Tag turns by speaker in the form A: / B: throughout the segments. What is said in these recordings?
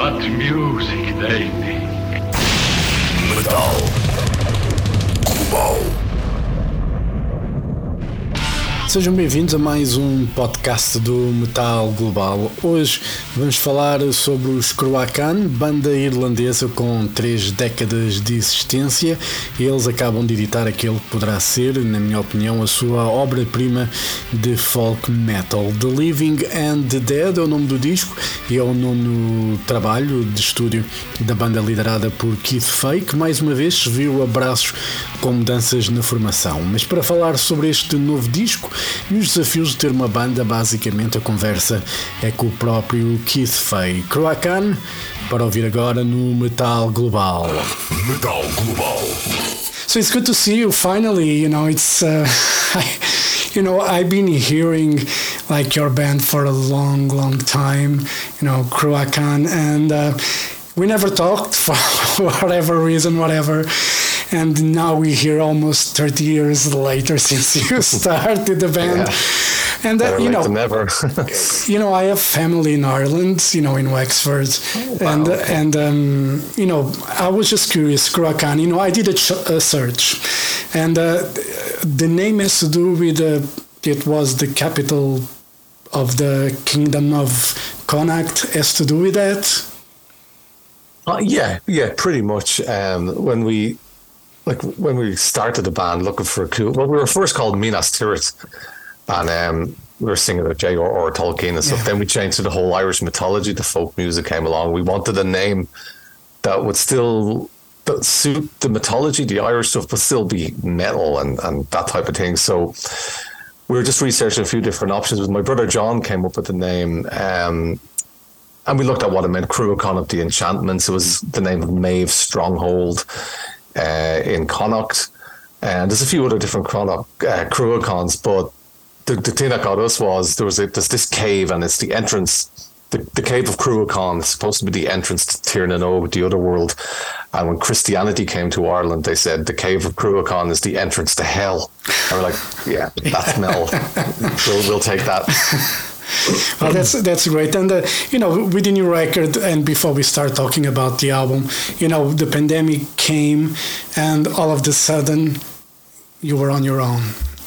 A: What music they make.
B: Metal Global.
C: Sejam bem-vindos a mais um podcast do Metal Global. Hoje vamos falar sobre os Cruachan, banda irlandesa com 3 décadas de existência. Eles acabam de editar aquele que poderá ser, na minha opinião, a sua obra-prima de folk metal. The Living and the Dead é o nome do disco e é o nono trabalho de estúdio da banda liderada por Keith Fay, que mais uma vez se viu a braços com mudanças na formação. Mas para falar sobre este novo disco e os desafios de ter uma banda, basicamente a conversa é com o próprio Keith Fay. Cruachan, para ouvir agora no Metal Global.
B: Metal Global.
D: So it's good to see you finally. It's I've been hearing like your band for a long time, Cruachan, and we never talked for whatever reason, and now we're here almost 30 years later since you started the band.
E: Yeah.
D: And
E: Better late than never.
D: I have family in Ireland, in Wexford.
E: Wow.
D: And I was just curious, Cruachan, I did a search, and the name has to do with it was the capital of the Kingdom of Connacht, has to do with that.
E: Yeah, pretty much. When we started the band looking for a clue, we were first called Minas Tirith, and we were singing about J.R.R. Tolkien and stuff. Yeah. Then we changed to the whole Irish mythology. The folk music came along. We wanted a name that would still suit the mythology, the Irish stuff, but still be metal and that type of thing. So we were just researching a few different options. My brother John came up with the name, and we looked at what it meant. Cruachan of the Enchantments. It was the name of Maeve's stronghold in Connacht. And there's a few other different Cruachans, but the thing that got us was there's this cave, and it's the entrance. The cave of Cruachan is supposed to be the entrance to Tír na nÓg, the other world. And when Christianity came to Ireland, they said the cave of Cruachan is the entrance to hell. And we're like, yeah, that's metal. We'll take that.
D: Well, that's great. And with the new record, and before we start talking about the album, the pandemic came, and all of a sudden, you were on your own.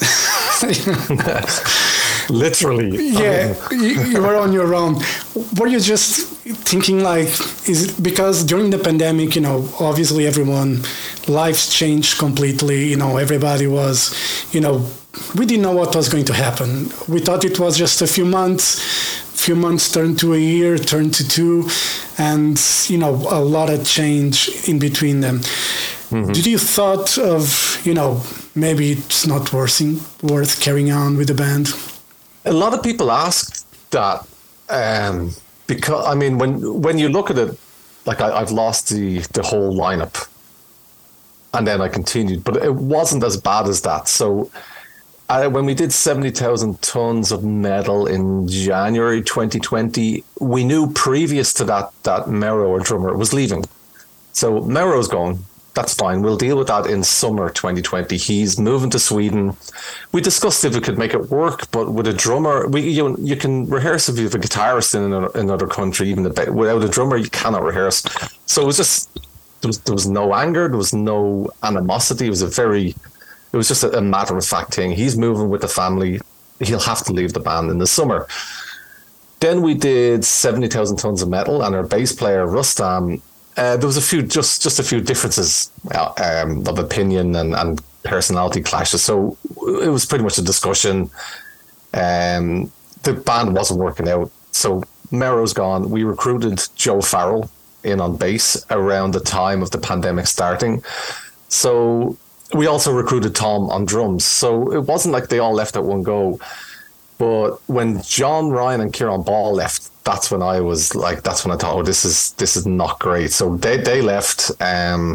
E: Literally.
D: Yeah, you were on your own. Were you just thinking is it because during the pandemic, obviously everyone, lives changed completely. Everybody was, we didn't know what was going to happen. We thought it was just a few months turned to a year, turned to 2, and, a lot of change in between them. Mm-hmm. Did you thought of, maybe it's not worth carrying on with the band?
E: A lot of people ask that because, when you look at it, I've lost the whole lineup, and then I continued, but it wasn't as bad as that. So when we did 70,000 tons of metal in January 2020, we knew previous to that Mero, our drummer, was leaving. So Mero's gone. That's fine. We'll deal with that in summer 2020. He's moving to Sweden. We discussed if we could make it work, but with a drummer, you can rehearse if you have a guitarist in another country. Even without a drummer, you cannot rehearse. So it was just there was no anger, there was no animosity. It was just a matter of fact thing. He's moving with the family. He'll have to leave the band in the summer. Then we did 70,000 tons of metal, and our bass player Rustam. There was a few differences of opinion and personality clashes. So it was pretty much a discussion. The band wasn't working out. So Mero's gone. We recruited Joe Farrell in on bass around the time of the pandemic starting. So we also recruited Tom on drums. So it wasn't like they all left at one go. But when John Ryan and Kieran Ball left, that's when I thought, oh, this is not great. So they left. I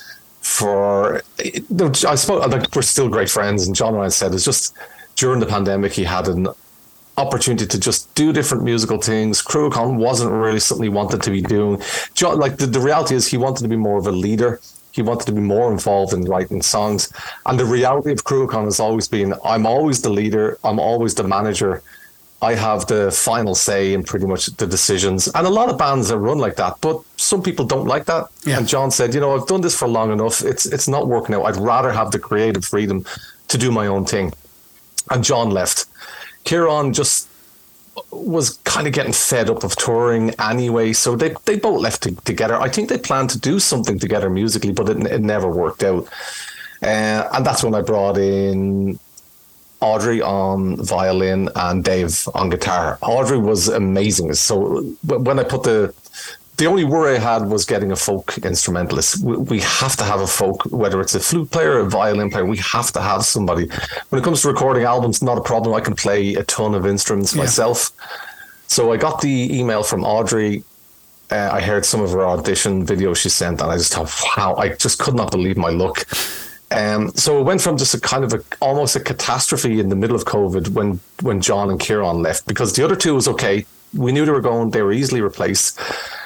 E: suppose we're still great friends, and John Ryan said it's just during the pandemic he had an opportunity to just do different musical things. Cruachan wasn't really something he wanted to be doing. John, the reality is he wanted to be more of a leader. He wanted to be more involved in writing songs. And the reality of Cruachan has always been, I'm always the leader, I'm always the manager, I have the final say in pretty much the decisions. And a lot of bands are run like that, but some people don't like that.
D: Yeah.
E: And John said, I've done this for long enough. It's not working out. I'd rather have the creative freedom to do my own thing. And John left. Kieran just was kind of getting fed up of touring anyway, so they both left together. I think they planned to do something together musically, but it never worked out. And that's when I brought in Audrey on violin and Dave on guitar. Audrey was amazing. So when I put the only worry I had was getting a folk instrumentalist. We have to have a folk, whether it's a flute player or a violin player, we have to have somebody. When it comes to recording albums, not a problem. I can play a ton of instruments myself. So I got the email from Audrey. I heard some of her audition videos she sent, and I just thought, wow, I just could not believe my luck. So it went from just almost a catastrophe in the middle of COVID when John and Kieran left, because the other two was okay. We knew they were going, they were easily replaced.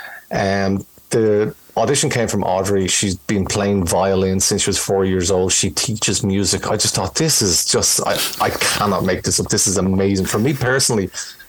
E: The audition came from Audrey. She's been playing violin since she was 4 years old. She teaches music. I just thought, this is just, I cannot make this up. This is amazing. For me personally,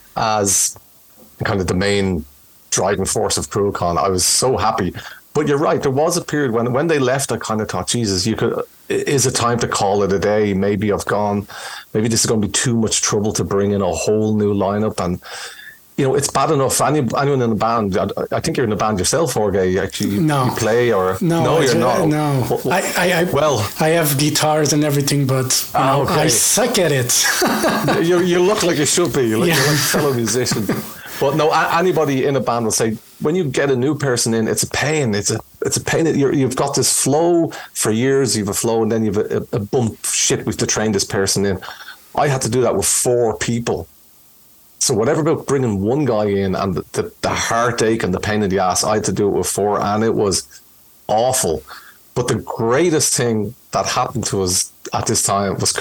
E: as kind of the main driving force of Cruachan, I was so happy. But you're right, there was a period when they left, I kind of thought, Jesus, is it time to call it a day? Maybe maybe this is going to be too much trouble to bring in a whole new lineup. And it's bad enough. Anyone in the band, I think you're in the band yourself, Jorge. Actually,
D: no.
E: You play or
D: no,
E: you're not.
D: No, I have guitars and everything, but
E: okay.
D: I suck at it.
E: you look like you should be. You're like a fellow musician. But no, anybody in a band will say, when you get a new person in, it's a pain. It's a pain. You've got this flow for years. You've a flow, and then you've a bump. Shit, we have to train this person in. I had to do that with 4 people. So whatever about bringing one guy in and the heartache and the pain in the ass, I had to do it with 4, and it was awful. But the greatest thing that happened to us at this time was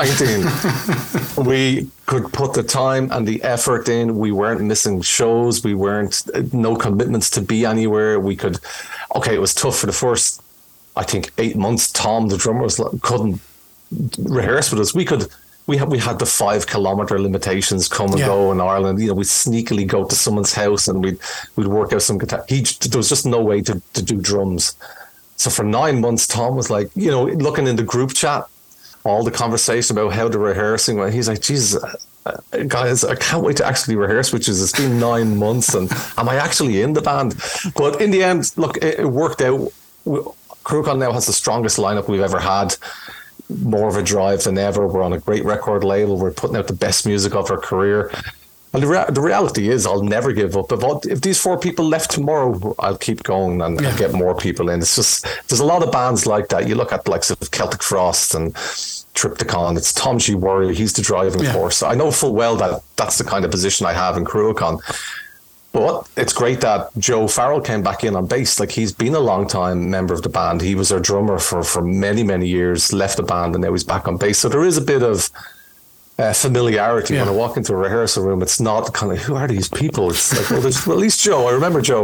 E: COVID-19. We could put the time and the effort in. We weren't missing shows. We weren't, no commitments to be anywhere. It was tough for the first, I think, 8 months. Tom, the drummer, couldn't rehearse with us. We had the 5 kilometer limitations come and go in Ireland. We'd sneakily go to someone's house and we'd work out some guitar. There was just no way to do drums. So for 9 months, Tom was like, looking in the group chat, all the conversation about how they're rehearsing. He's like, Jesus, guys, I can't wait to actually rehearse, it's been 9 months, and am I actually in the band? But in the end, look, it worked out. Cruachan now has the strongest lineup we've ever had. More of a drive than ever. We're on a great record label. We're putting out the best music of our career. And the reality is, I'll never give up. If these 4 people left tomorrow, I'll keep going and get more people in. It's just, there's a lot of bands like that. You look at like Celtic Frost and Triptychon. It's Tom G. Worry. He's the driving force. I know full well that that's the kind of position I have in Cruachan. But it's great that Joe Farrell came back in on bass. Like, he's been a long time member of the band. He was our drummer for many, many years, left the band, and now he's back on bass. So there is a bit of familiarity. When I walk into a rehearsal room, it's not kind of, who are these people? It's like, well, there's at least Joe. I remember Joe.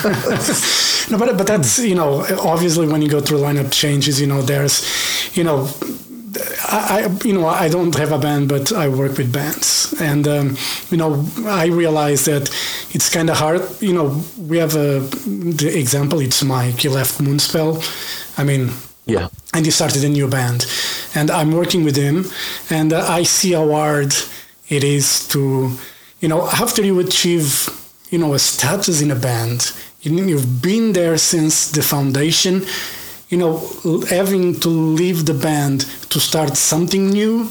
D: No, but that's, obviously when you go through lineup changes, there's, I don't have a band, but I work with bands, and I realize that it's kind of hard. We have the example. It's Mike. He left Moonspell. And he started a new band, and I'm working with him, and I see how hard it is to, after you achieve, a status in a band, you've been there since the foundation. Having to leave the band to start something new,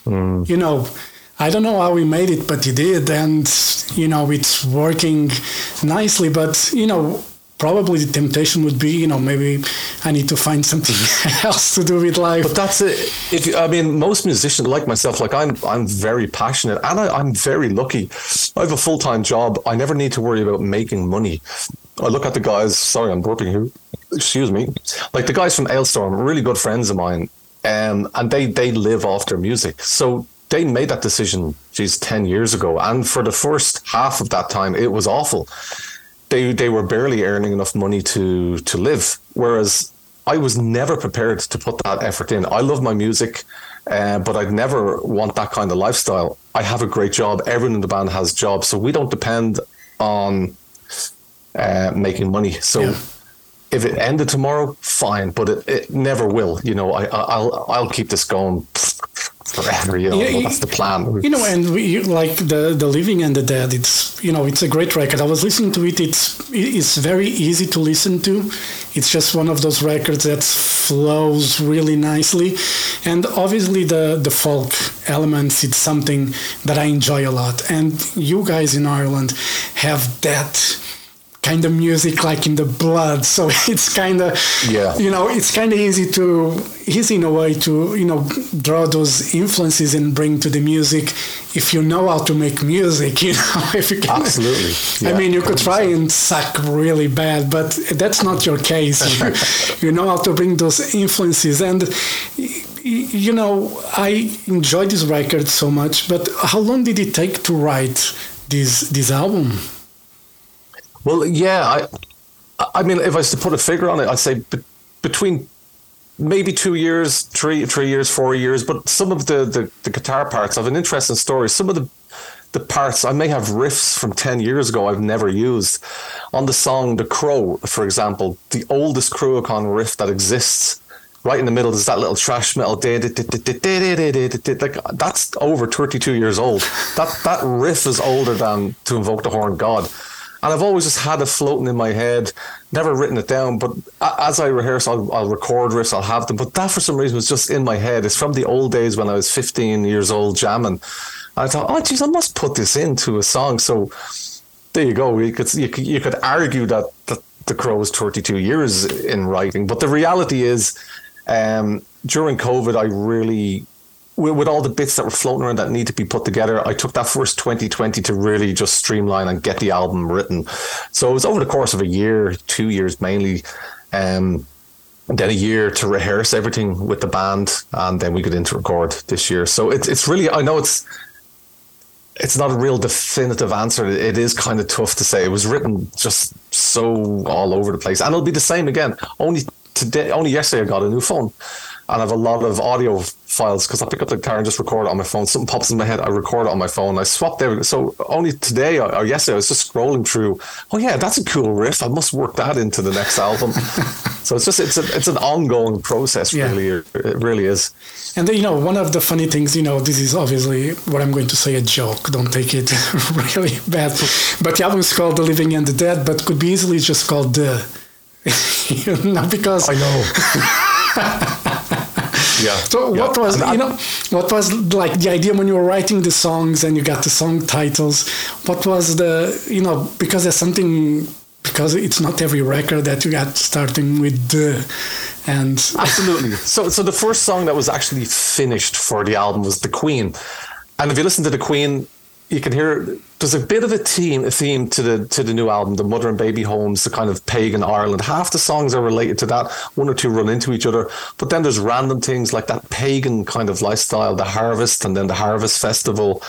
D: I don't know how he made it, but he did. And, it's working nicely. But, probably the temptation would be, maybe I need to find something else to do with life.
E: But that's it. Most musicians like myself, like I'm very passionate, and I'm very lucky. I have a full-time job. I never need to worry about making money. I look at the guys, sorry, I'm burping here. Excuse me. Like the guys from Ailstorm, really good friends of mine, and they live off their music. So they made that decision, 10 years ago. And for the first half of that time, it was awful. They were barely earning enough money to live. Whereas I was never prepared to put that effort in. I love my music, but I'd never want that kind of lifestyle. I have a great job. Everyone in the band has jobs, so we don't depend on making money. So if it ended tomorrow, fine, but it never will. You know, I'll keep this going forever. You know, that's the plan.
D: You know, and like the Living and the Dead. It's, you know, it's a great record. I was listening to it. It's very easy to listen to. It's just one of those records that flows really nicely, and obviously the folk elements. It's something that I enjoy a lot. And you guys in Ireland have that kind of music like in the blood, so it's kind of, you know, it's kind of easy in a way to, you know, draw those influences and bring to the music if you know how to make music, you know. If you can.
E: Absolutely. Yeah,
D: I mean, you could try and suck really bad, but that's not your case. You know how to bring those influences, and you know, I enjoyed this record so much. But how long did it take to write this album?
E: Well, yeah, I mean, if I was to put a figure on it, I'd say between maybe 2 years, 3 years, 4 years. But some of the guitar parts have an interesting story. Some of the parts, I may have riffs from 10 years ago I've never used. On the song The Crow, for example, the oldest Cruachan riff that exists, right in the middle, there's that little thrash metal, like that's over 32 years old. That riff is older than To Invoke the Horned God. And I've always just had it floating in my head, never written it down. But as I rehearse, I'll record riffs, I'll have them. But that, for some reason, was just in my head. It's from the old days when I was 15 years old jamming. And I thought, oh, geez, I must put this into a song. So there you go. You could argue that The Crow was 32 years in writing. But the reality is, during COVID, I really, with all the bits that were floating around that need to be put together, I took that first 2020 to really just streamline and get the album written. So it was over the course of a year, 2 years mainly, and then a year to rehearse everything with the band, and then we got into record this year. So it's really, I know it's not a real definitive answer. It is kind of tough to say. It was written just so all over the place, and it'll be the same again. Only yesterday I got a new phone. And I have a lot of audio files because I pick up the guitar and just record it on my phone. Something pops in my head, I record it on my phone. I swapped everything. So only today or yesterday, I was just scrolling through. Oh yeah, that's a cool riff. I must work that into the next album. So it's an ongoing process. Really, it really is.
D: And then, you know, one of the funny things, you know, this is obviously what I'm going to say, a joke. Don't take it really bad. But the album is called The Living and the Dead, but could be easily just called The. You know, because
E: I know. Yeah.
D: So what was like the idea when you were writing the songs and you got the song titles? What was because it's not every record that you got starting with the, and
E: absolutely. So the first song that was actually finished for the album was The Queen, and if you listen to The Queen, you can hear there's a bit of a theme to the new album, the mother and baby homes, the kind of pagan Ireland. Half the songs are related to that. One or two run into each other, but then there's random things like that pagan kind of lifestyle, the harvest, and then the harvest festival.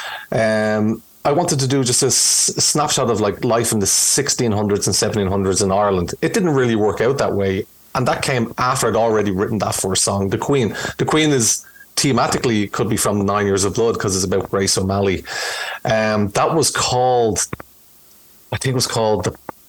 E: I wanted to do just a snapshot of like life in the 1600s and 1700s in Ireland. It didn't really work out that way, and that came after I'd already written that first song, The Queen. The Queen is thematically could be from 9 Years of Blood because it's about Grace O'Malley. That was called, I think it was called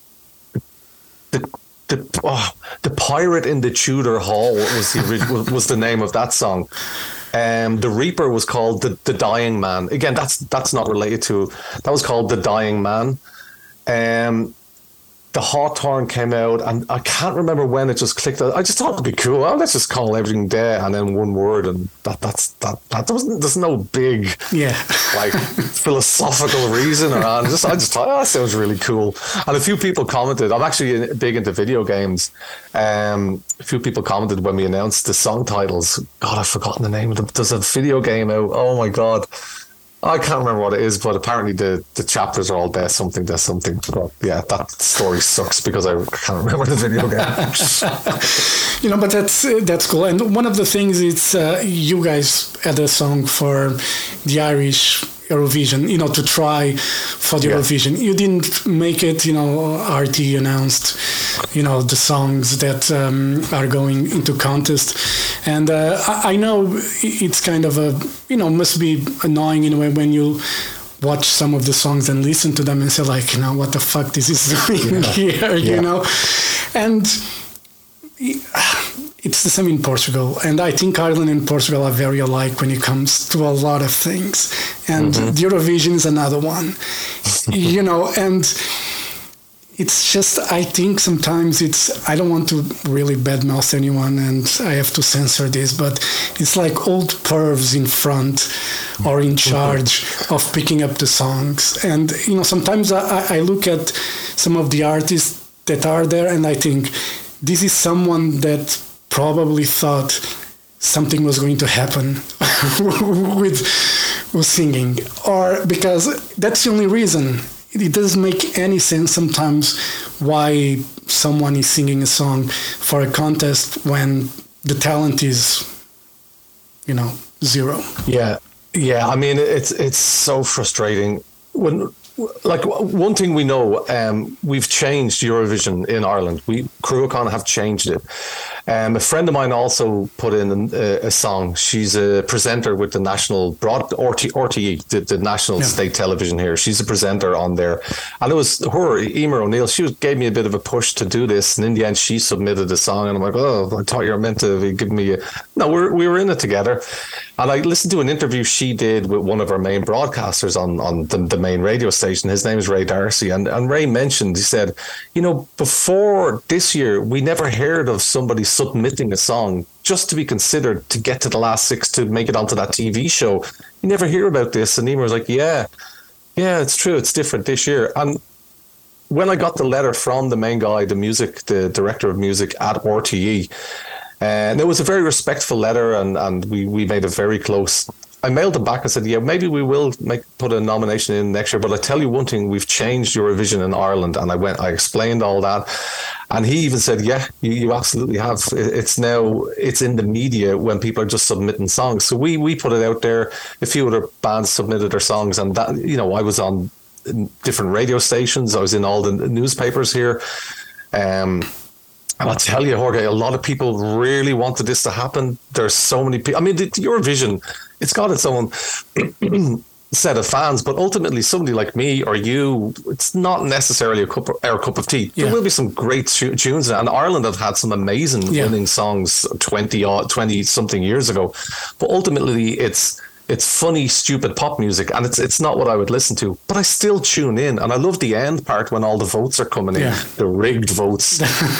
E: the Pirate in the Tudor Hall was the name of that song. The Reaper was called the Dying Man. Again, that's not related to. That was called The Dying Man. The Hawthorne came out, and I can't remember when it just clicked. I just thought it'd be cool. Well, let's just call everything Dead and then one word, and there's no big like philosophical reason around. I just thought, that sounds really cool. And a few people commented. I'm actually big into video games. A few people commented when we announced the song titles. God, I've forgotten the name of them. There's a video game out. Oh my God. I can't remember what it is, but apparently the chapters are all there's something. But yeah, that story sucks because I can't remember the video game.
D: But that's cool. And one of the things is you guys had a song for the Irish Eurovision, to try for the Eurovision. You didn't make it, RT announced, the songs that are going into contest. And I know it's kind of must be annoying in a way when you watch some of the songs and listen to them and say like, what the fuck this is doing here, And it's the same in Portugal. And I think Ireland and Portugal are very alike when it comes to a lot of things. And the Eurovision is another one, and it's just, I think sometimes I don't want to really badmouth anyone and I have to censor this, but it's like old pervs in front or in charge of picking up the songs. And, sometimes I look at some of the artists that are there and I think this is someone that probably thought something was going to happen with singing, or because that's the only reason. It doesn't make any sense sometimes why someone is singing a song for a contest when the talent is, zero.
E: Yeah. I mean, it's so frustrating. One thing we know, we've changed Eurovision in Ireland. Cruachan have changed it. A friend of mine also put in a song. She's a presenter with the national RTE, the national state television here. She's a presenter on there, and it was her, Emer O'Neill. She gave me a bit of a push to do this, and in the end, she submitted a song, and I'm like, oh, I thought you were meant to be giving me No, we were in it together, and I listened to an interview she did with one of our main broadcasters on the main radio station. His name is Ray Darcy, and Ray mentioned, he said, before this year, we never heard of somebody submitting a song just to be considered to get to the last six to make it onto that TV show. You never hear about this. And Emer was like, yeah, it's true. It's different this year. And when I got the letter from the main guy, the director of music at RTE, and it was a very respectful letter, and we made it very close. I mailed it back and said, maybe we will put a nomination in next year, but I tell you one thing, we've changed Eurovision in Ireland. And I explained all that. And he even said, you absolutely have. It's in the media when people are just submitting songs. So we put it out there. A few other bands submitted their songs, and that, I was on different radio stations. I was in all the newspapers here. And I'll tell you, Jorge, a lot of people really wanted this to happen. There's so many people. I mean, the Eurovision, it's got its own set of fans, but ultimately somebody like me or you, it's not necessarily our cup of tea. There will be some great tunes, and Ireland have had some amazing winning songs 20 something years ago, but ultimately it's funny, stupid pop music, and it's not what I would listen to, but I still tune in, and I love the end part when all the votes are coming in, the rigged votes.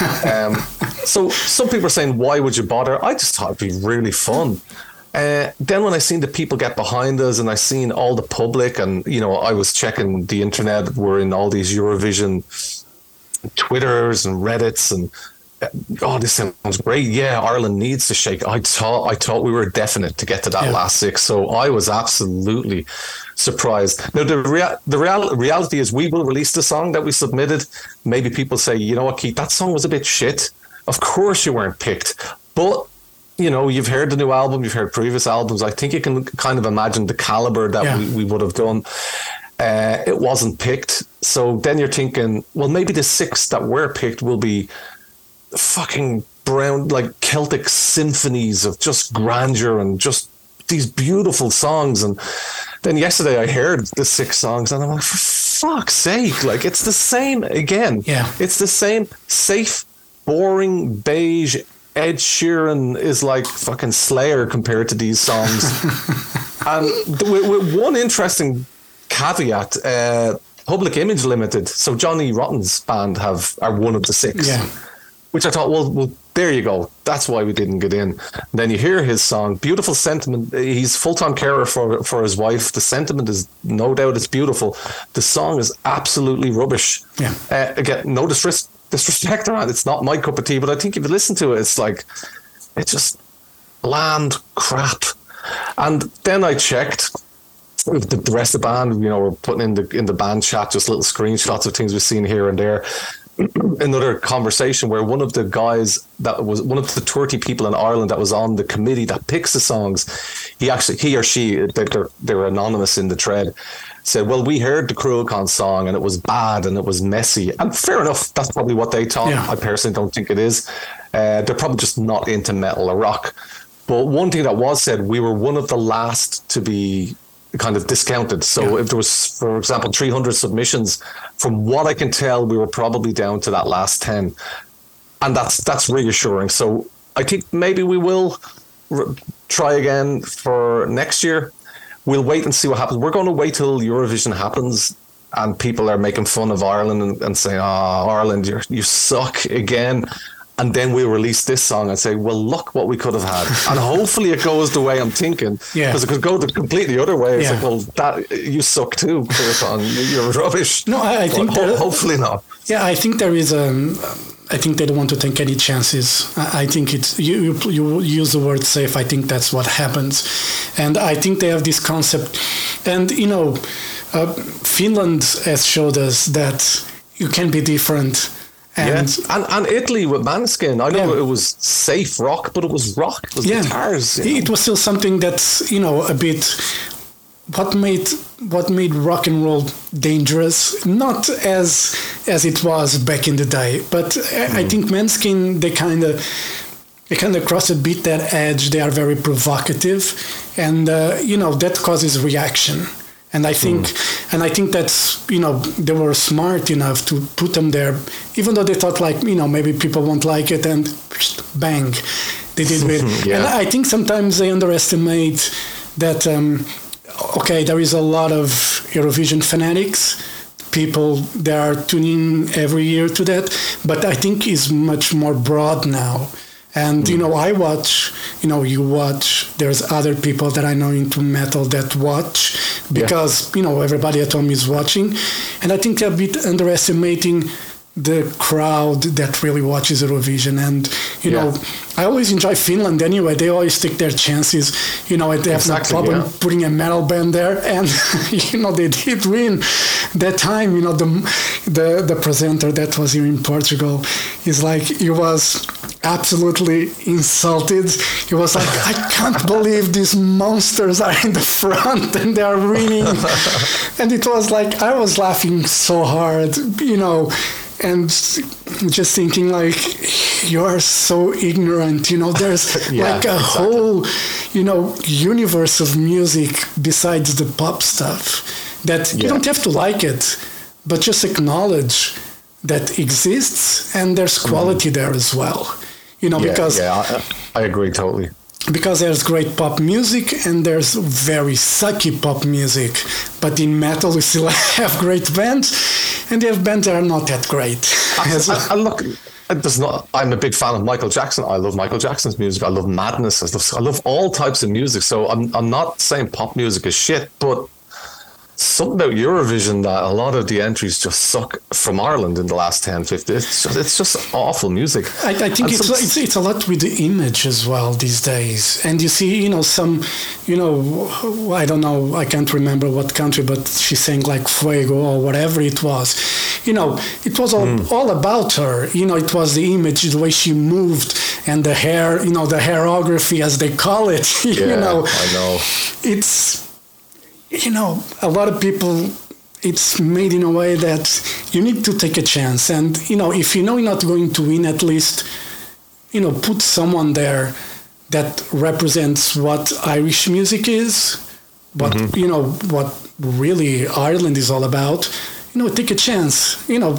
E: So some people are saying, why would you bother? I just thought it'd be really fun. Then when I seen the people get behind us, and I seen all the public, and I was checking the internet, we're in all these Eurovision Twitters and Reddits, and this sounds great. Yeah, Ireland needs to shake. I thought we were definite to get to that last six, so I was absolutely surprised. Now the reality is, we will release the song that we submitted. Maybe people say, you know what, Keith, that song was a bit shit. Of course you weren't picked, but you've heard the new album, you've heard previous albums. I think you can kind of imagine the caliber that we would have done. It wasn't picked, so then you're thinking, well, maybe the six that were picked will be fucking brown, like Celtic symphonies of just grandeur and just these beautiful songs. And then yesterday I heard the six songs, and I'm like, for fuck's sake, like, it's the same again. It's the same safe, boring, beige. Ed Sheeran is like fucking Slayer compared to these songs. And with one interesting caveat, Public Image Limited, so Johnny Rotten's band are one of the six. Which I thought, well, there you go. That's why we didn't get in. And then you hear his song, beautiful sentiment. He's full-time carer for his wife. The sentiment is, no doubt, it's beautiful. The song is absolutely rubbish. Again, no disrespect around. It's not my cup of tea, but I think if you listen to it, it's just bland crap. And then I checked the rest of the band. We're putting in the band chat just little screenshots of things we've seen here and there. another conversation where one of the guys that was one of the 30 people in Ireland that was on the committee that picks the songs, he or she, they're anonymous in the thread, said, well, we heard the Cruel Con song and it was bad and it was messy. And fair enough, that's probably what they thought. Yeah. I personally don't think it is. They're probably just not into metal or rock. But one thing that was said, we were one of the last to be kind of discounted. So if there was, for example, 300 submissions, from what I can tell, we were probably down to that last 10. And that's reassuring. So I think maybe we will try again for next year. We'll wait and see what happens. We're going to wait till Eurovision happens and people are making fun of Ireland and saying, oh, Ireland, you suck again. And then we'll release this song and say, well, look what we could have had. And hopefully it goes the way I'm thinking. Because it could go the completely other way. It's like, well, you suck too, you're rubbish.
D: No, I think
E: hopefully not.
D: Yeah, I think there is I think they don't want to take any chances. I think it's you use the word safe. I think that's what happens. And I think they have this concept. And, Finland has showed us that you can be different. And
E: Italy with Måneskin, I know it was safe rock, but it was rock. It was guitars.
D: It was still something that's a bit what made rock and roll dangerous, not as it was back in the day, but I think Måneskin they kind of cross a bit that edge. They are very provocative, and that causes reaction. And I think that's, they were smart enough to put them there, even though they thought maybe people won't like it, and bang, they did it. And I think sometimes they underestimate that, there is a lot of Eurovision fanatics, people that are tuning every year to that, but I think it's much more broad now. And, I watch, you watch, there's other people that I know into metal that watch because, everybody at home is watching. And I think they're a bit underestimating the crowd that really watches Eurovision. And, I always enjoy Finland anyway. They always take their chances. They have no problem putting a metal band there. And, they did win that time. The presenter that was here in Portugal is like, he was absolutely insulted. He was like, I can't believe these monsters are in the front and they are winning. And it was like, I was laughing so hard, and just thinking you are so ignorant, there's whole, universe of music besides the pop stuff that you don't have to like it, but just acknowledge that exists and there's quality there as well. Because
E: I agree totally.
D: Because there's great pop music and there's very sucky pop music, but in metal we still have great bands, and they have bands that are not that great. I'm a big fan of Michael Jackson. I love Michael Jackson's music. I love Madness. I love all types of music. So I'm not saying pop music is shit, but something about Eurovision that a lot of the entries just suck from Ireland in the last 10, 15. It's just awful music. I think it's a lot with the image as well these days. And you see, some, I don't know, I can't remember what country, but she sang like Fuego or whatever it was. It was all about her. It was the image, the way she moved, and the hair, the hairography as they call it.
E: I know.
D: It's... a lot of people, it's made in a way that you need to take a chance. And, if you're not going to win, at least, put someone there that represents what Irish music is, what, what really Ireland is all about. Take a chance,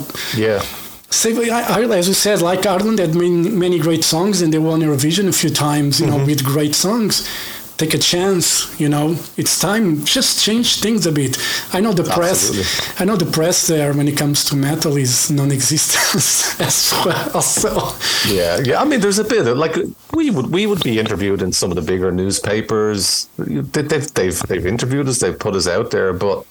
D: Say, as you said, like Ireland had many great songs and they won Eurovision a few times, with great songs. Take a chance, it's time, just change things a bit. I know the press there when it comes to metal is non-existent as well. So.
E: Yeah. I mean, there's a bit of, we would be interviewed in some of the bigger newspapers. They've interviewed us, they've put us out there, but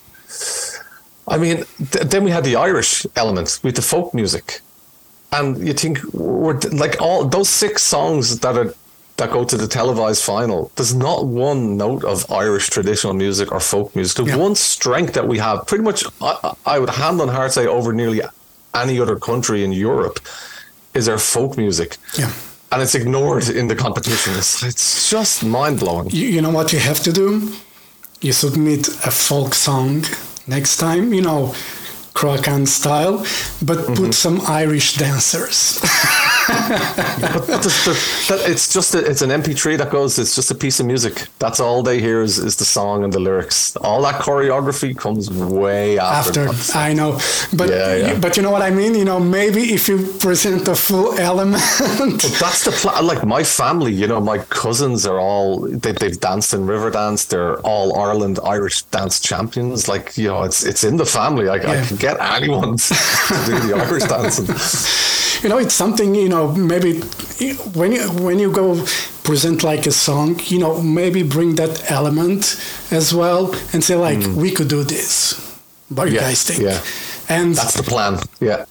E: I mean, then we had the Irish element with the folk music, and you think we're all those 6 songs that go to the televised final, there's not one note of Irish traditional music or folk music. The one strength that we have, pretty much, I would hand on heart say over nearly any other country in Europe is our folk music.
D: Yeah.
E: And it's ignored in the competition. It's just mind-blowing.
D: You know what you have to do? You submit a folk song next time, Cruachan style, but put some Irish dancers.
E: But it's an MP3 that goes. It's just a piece of music. That's all they hear is the song and the lyrics. All that choreography comes way after.
D: I know, but but you know what I mean. Maybe if you present the full element.
E: But that's the plan. Like my family, my cousins are all they've danced in Riverdance. They're all Ireland Irish dance champions. Like it's in the family. I can get anyone to do the Irish dancing.
D: It's something, maybe when you go present like a song, maybe bring that element as well and say we could do this. What do you guys think?
E: Yeah.
D: And
E: that's the plan. Yeah.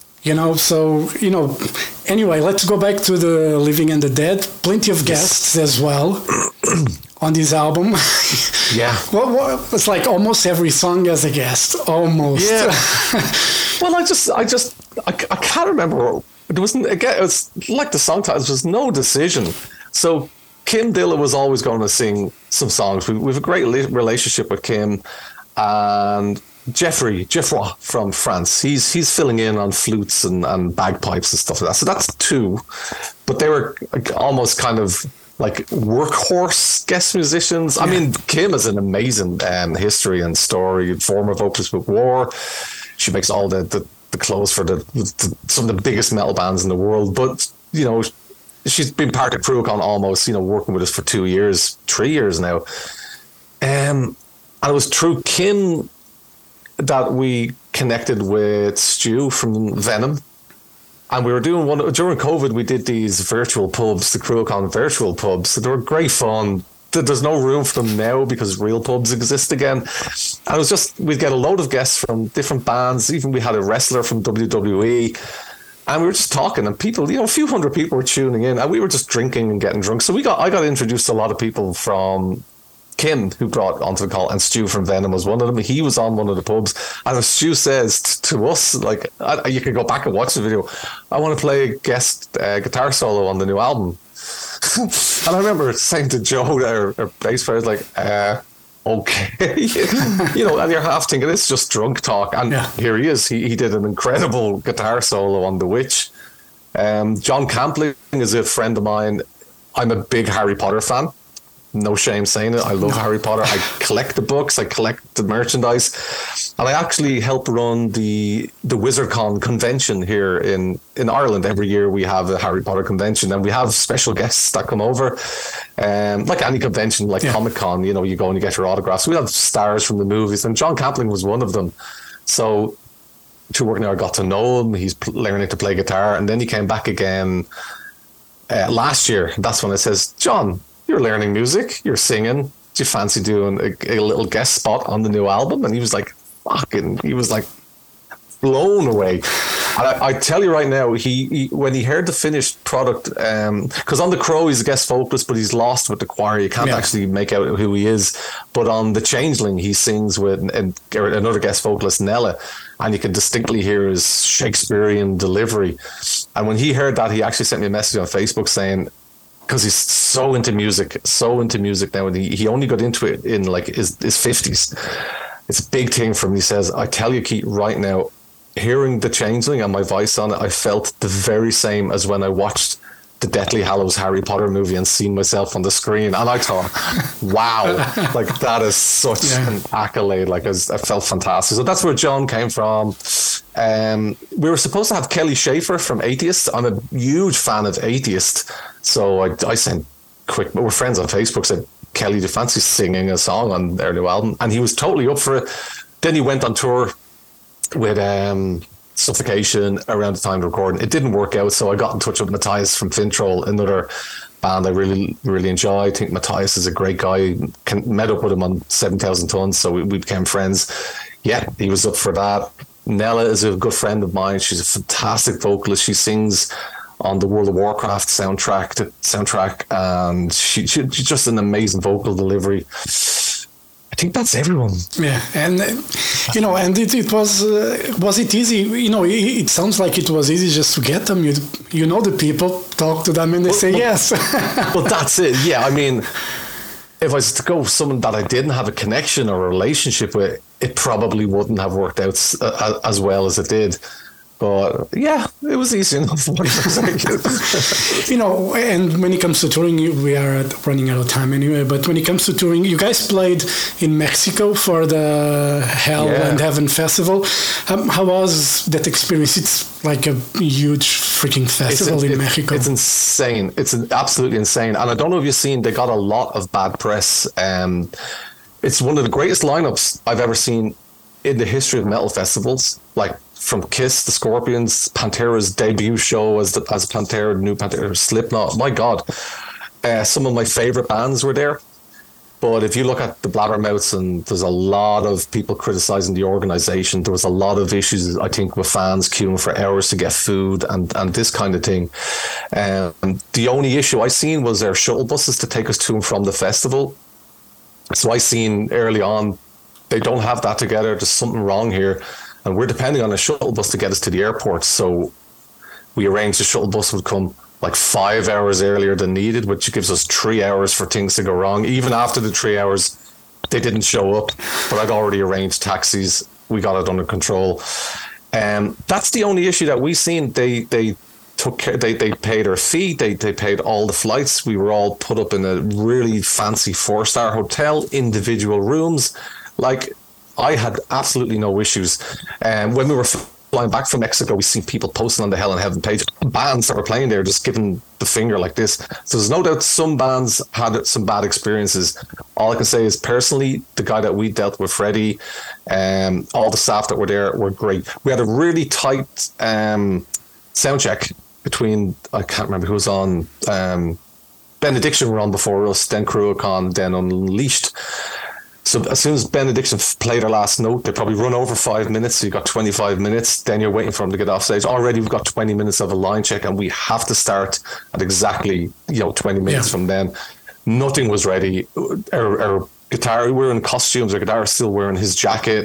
D: Anyway, let's go back to the Living and the Dead. Plenty of guests as well on this album.
E: Yeah.
D: Well, it's like almost every song has a guest. Almost.
E: Yeah. Well, I can't remember. It wasn't, again, it was like the song titles, there was no decision. So Kim Dilla was always going to sing some songs. We have a great relationship with Kim, and Geoffroy from France. He's filling in on flutes and bagpipes and stuff like that. So that's two. But they were almost kind of like workhorse guest musicians. Yeah. I mean, Kim has an amazing history and story, former vocalist with War. She makes all the clothes for some of the biggest metal bands in the world. But, she's been part of Cruachan almost, working with us for 3 years now. And it was through Kim that we connected with Stu from Venom. And we were doing during COVID, we did these virtual pubs, the Cruachan virtual pubs. So they were great fun. There's no room for them now because real pubs exist again. And it was just, we'd get a load of guests from different bands. Even we had a wrestler from WWE. And we were just talking, and people, a few hundred people were tuning in, and we were just drinking and getting drunk. So I got introduced to a lot of people from Kim, who brought onto the call, and Stu from Venom was one of them. He was on one of the pubs. And as Stu says to us, you can go back and watch the video, I want to play a guest guitar solo on the new album. And I remember saying to Joe, our bass player, okay. And you're half thinking it's just drunk talk. And here he is. He did an incredible guitar solo on The Witch. John Campling is a friend of mine. I'm a big Harry Potter fan. No shame saying it. I love Harry Potter. I collect the books. I collect the merchandise. And I actually help run the WizardCon convention here in Ireland. Every year we have a Harry Potter convention, and we have special guests that come over. Like any convention, like Comic-Con, you go and you get your autographs. We have stars from the movies, and John Campling was one of them. So through working there, I got to know him. He's learning to play guitar. And then he came back again last year. That's when it says, John, you're learning music, you're singing. Do you fancy doing a little guest spot on the new album? And he was like, blown away. And I tell you right now, he when he heard the finished product, because on The Crow he's a guest vocalist, but he's lost with the choir. You can't actually make out who he is. But on The Changeling, he sings with another guest vocalist, Nella, and you can distinctly hear his Shakespearean delivery. And when he heard that, he actually sent me a message on Facebook saying, because he's so into music now, and he only got into it in his 50s. It's a big thing for him. He says, I tell you, Keith, right now, hearing The Changeling and my voice on it, I felt the very same as when I watched the Deathly Hallows Harry Potter movie and seen myself on the screen. And I thought, wow, that is such an accolade. I felt fantastic. So that's where John came from. We were supposed to have Kelly Schaefer from Atheist. I'm a huge fan of Atheist. So I sent we're friends on Facebook, said, Kelly, do you fancy singing a song on their new album? And he was totally up for it. Then he went on tour with Suffocation around the time of recording. It didn't work out, so I got in touch with Matthias from Fintroll, another band I really, really enjoy. I think Matthias is a great guy. Met up with him on 7,000 Tons, so we became friends. Yeah, he was up for that. Nella is a good friend of mine. She's a fantastic vocalist. She sings on the World of Warcraft soundtrack, and she's just an amazing vocal delivery. I think that's everyone.
D: Yeah, and and it was it easy? It sounds like it was easy just to get them. You know the people, talk to them, and they say yes.
E: Well, that's it. Yeah, I mean, if I was to go with someone that I didn't have a connection or a relationship with, it probably wouldn't have worked out as well as it did. But yeah, it was easy enough.
D: And when it comes to touring, we are running out of time anyway. But when it comes to touring, you guys played in Mexico for the Hell and Heaven Festival. How was that experience? It's like a huge freaking festival in Mexico.
E: It's insane. It's absolutely insane. And I don't know if you've seen, they got a lot of bad press. It's one of the greatest lineups I've ever seen in the history of metal festivals. Like, from Kiss, the Scorpions, Pantera's debut show as Pantera, new Pantera, Slipknot. My God, some of my favorite bands were there. But if you look at the Blabbermouths, and there's a lot of people criticizing the organization. There was a lot of issues, I think, with fans queuing for hours to get food and this kind of thing. The only issue I seen was their shuttle buses to take us to and from the festival. So I seen early on, they don't have that together. There's something wrong here. And we're depending on a shuttle bus to get us to the airport. So we arranged the shuttle bus would come like 5 hours earlier than needed, which gives us 3 hours for things to go wrong. Even after the 3 hours, they didn't show up, but I'd already arranged taxis. We got it under control. That's the only issue that we seen. They took care, they paid our fee, they paid all the flights. We were all put up in a really fancy 4-star hotel, individual rooms. Like, I had absolutely no issues. When we were flying back from Mexico, we see people posting on the Hell and Heaven page, bands that were playing there, just giving the finger like this. So there's no doubt some bands had some bad experiences. All I can say is, personally, the guy that we dealt with, Freddie, all the staff that were there were great. We had a really tight sound check between, I can't remember who was on, Benediction were on before us, then Cruachan, then Unleashed. So as soon as Benediction played their last note, they probably run over 5 minutes. So you got 25 minutes. Then you're waiting for them to get off stage. Already we've got 20 minutes of a line check, and we have to start at exactly 20 minutes from then. Nothing was ready. Our guitar, we were in costumes. Our guitar is still wearing his jacket.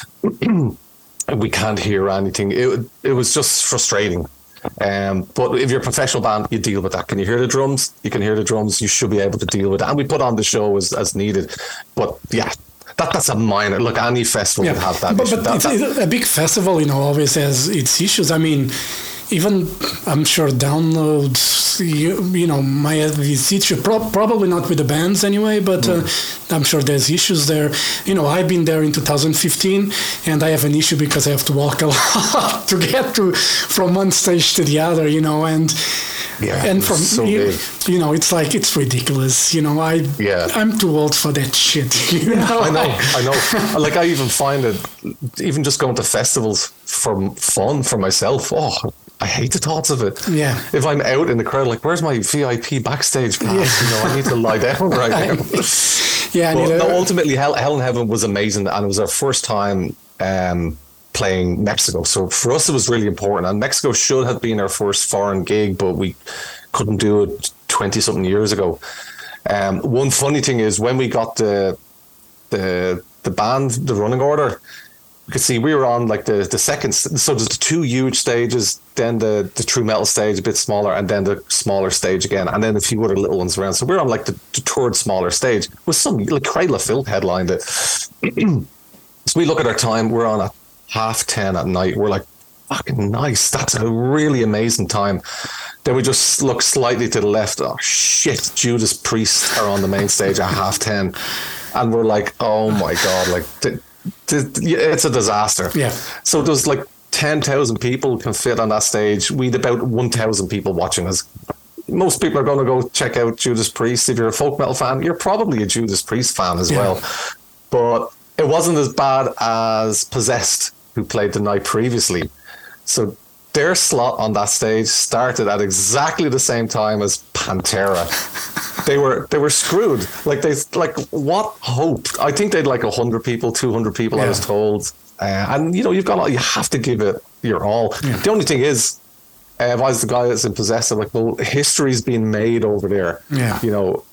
E: We can't hear anything. It was just frustrating. But if you're a professional band, you deal with that. Can you hear the drums? You can hear the drums. You should be able to deal with it. And we put on the show as needed. But yeah, that's a minor. Look, any festival would have that issue.
D: But it's a big festival, always has its issues. I mean, even I'm sure downloads, might have its issue. Probably not with the bands anyway, but I'm sure there's issues there. I've been there in 2015, and I have an issue because I have to walk a lot to get from one stage to the other, and from
E: so big.
D: It's like, it's ridiculous. I'm too old for that shit.
E: I know. Like, I even find it, even just going to festivals for fun for myself. Oh, I hate the thoughts of it.
D: Yeah.
E: If I'm out in the crowd, like, where's my VIP backstage pass? I need to lie down right now. Ultimately, Hell and Heaven was amazing, and it was our first time playing Mexico. So for us, it was really important. And Mexico should have been our first foreign gig, but we couldn't do it 20-something years ago. One funny thing is, when we got the band, the running order, you could see we were on like the second. So there's the two huge stages, then the true metal stage, a bit smaller, and then the smaller stage again, and then a few other little ones around. So we're on like the third smaller stage with some, like, Cradle of Filth headlined it. So we look at our time, we're on at 10:30 at night. We're like, fucking nice. That's a really amazing time. Then we just look slightly to the left. Oh shit, Judas Priest are on the main stage at 10:30, and we're like, oh my God, like it's a disaster.
D: Yeah.
E: So there's like 10,000 people can fit on that stage. We'd about 1,000 people watching us. Most people are going to go check out Judas Priest. If you're a folk metal fan, you're probably a Judas Priest fan as well. But it wasn't as bad as Possessed, who played the night previously. So their slot on that stage started at exactly the same time as Pantera. They were screwed. Like, what hope? I think they'd like 100 people, 200 people, I was told. And you have to give it your all. Yeah. The only thing is, if I was the guy that's in Possessed, I'm like, well, history's been made over there.
D: Yeah.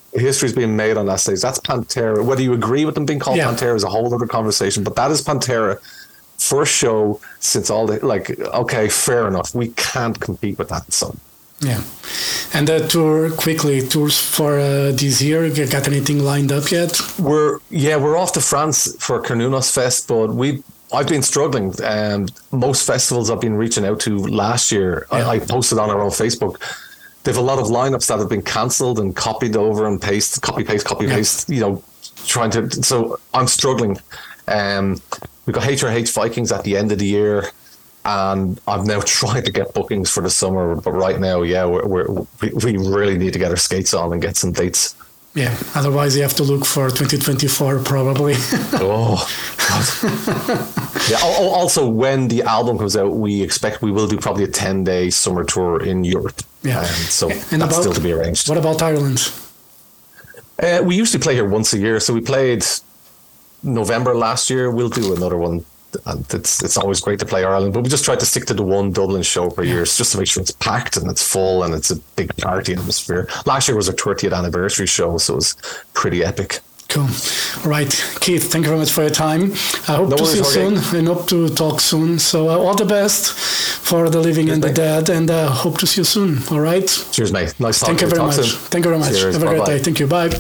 E: history's being made on that stage. That's Pantera. Whether you agree with them being called Pantera is a whole other conversation, but that is Pantera. First show since all the, like, okay, fair enough. We can't compete with that. So,
D: yeah. And the tours for this year, you got anything lined up yet?
E: We're off to France for Carnunos Fest, but I've been struggling. Most festivals I've been reaching out to last year, I posted on our own Facebook. They have a lot of lineups that have been cancelled and copied over and copy paste, you know, so I'm struggling. We've got HRH Vikings at the end of the year, and I'm now trying to get bookings for the summer. But right now, we really need to get our skates on and get some dates.
D: Yeah, otherwise you have to look for 2024 probably.
E: Oh, God. Yeah. Also, when the album comes out, we will do probably a 10-day summer tour in Europe.
D: Yeah.
E: And that's still to be arranged.
D: What about Ireland?
E: We usually play here once a year. So we played November last year. We'll do another one. And it's always great to play Ireland, but we just try to stick to the one Dublin show per year, just to make sure it's packed and it's full and it's a big party atmosphere. Last year was our 30th anniversary show, so it was pretty epic.
D: Cool. All right, Keith, thank you very much for your time. I hope to see you soon and hope to talk soon. So all the best for the living and the dead, and hope to see you soon. All right.
E: Cheers, mate. Nice talking to you.
D: Thank you very much. Thank you very much.
E: Cheers.
D: Have a great day. Thank you. Bye.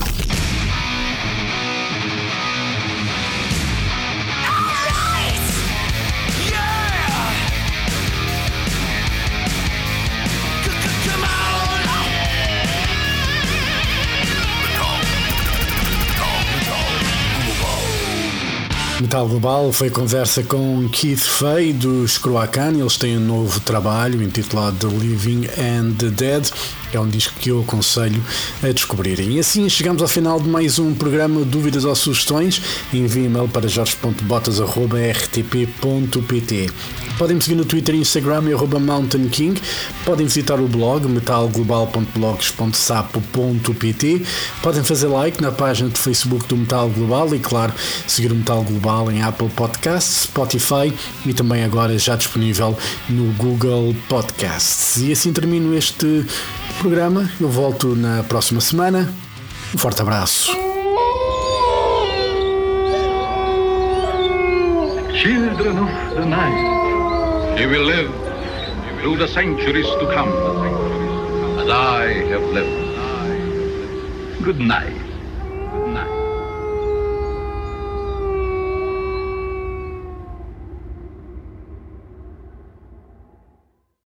C: Metal Global foi conversa com Keith Fay dos Croacan. Eles têm um novo trabalho intitulado The Living and the Dead. É um disco que eu aconselho a descobrirem. E assim chegamos ao final de mais um programa. Dúvidas ou sugestões? Envie e-mail para jorge.botas@rtp.pt. Podem me seguir no Twitter e Instagram @Mountain King. Podem visitar o blog metalglobal.blogs.sapo.pt. Podem fazer like na página de Facebook do Metal Global e, claro, seguir o Metal Global em Apple Podcasts, Spotify e também agora já disponível no Google Podcasts. E assim termino este programa. Eu volto na próxima semana. Um forte abraço.
A: Children of the night, you will live through the centuries to come, as I have lived. Good night.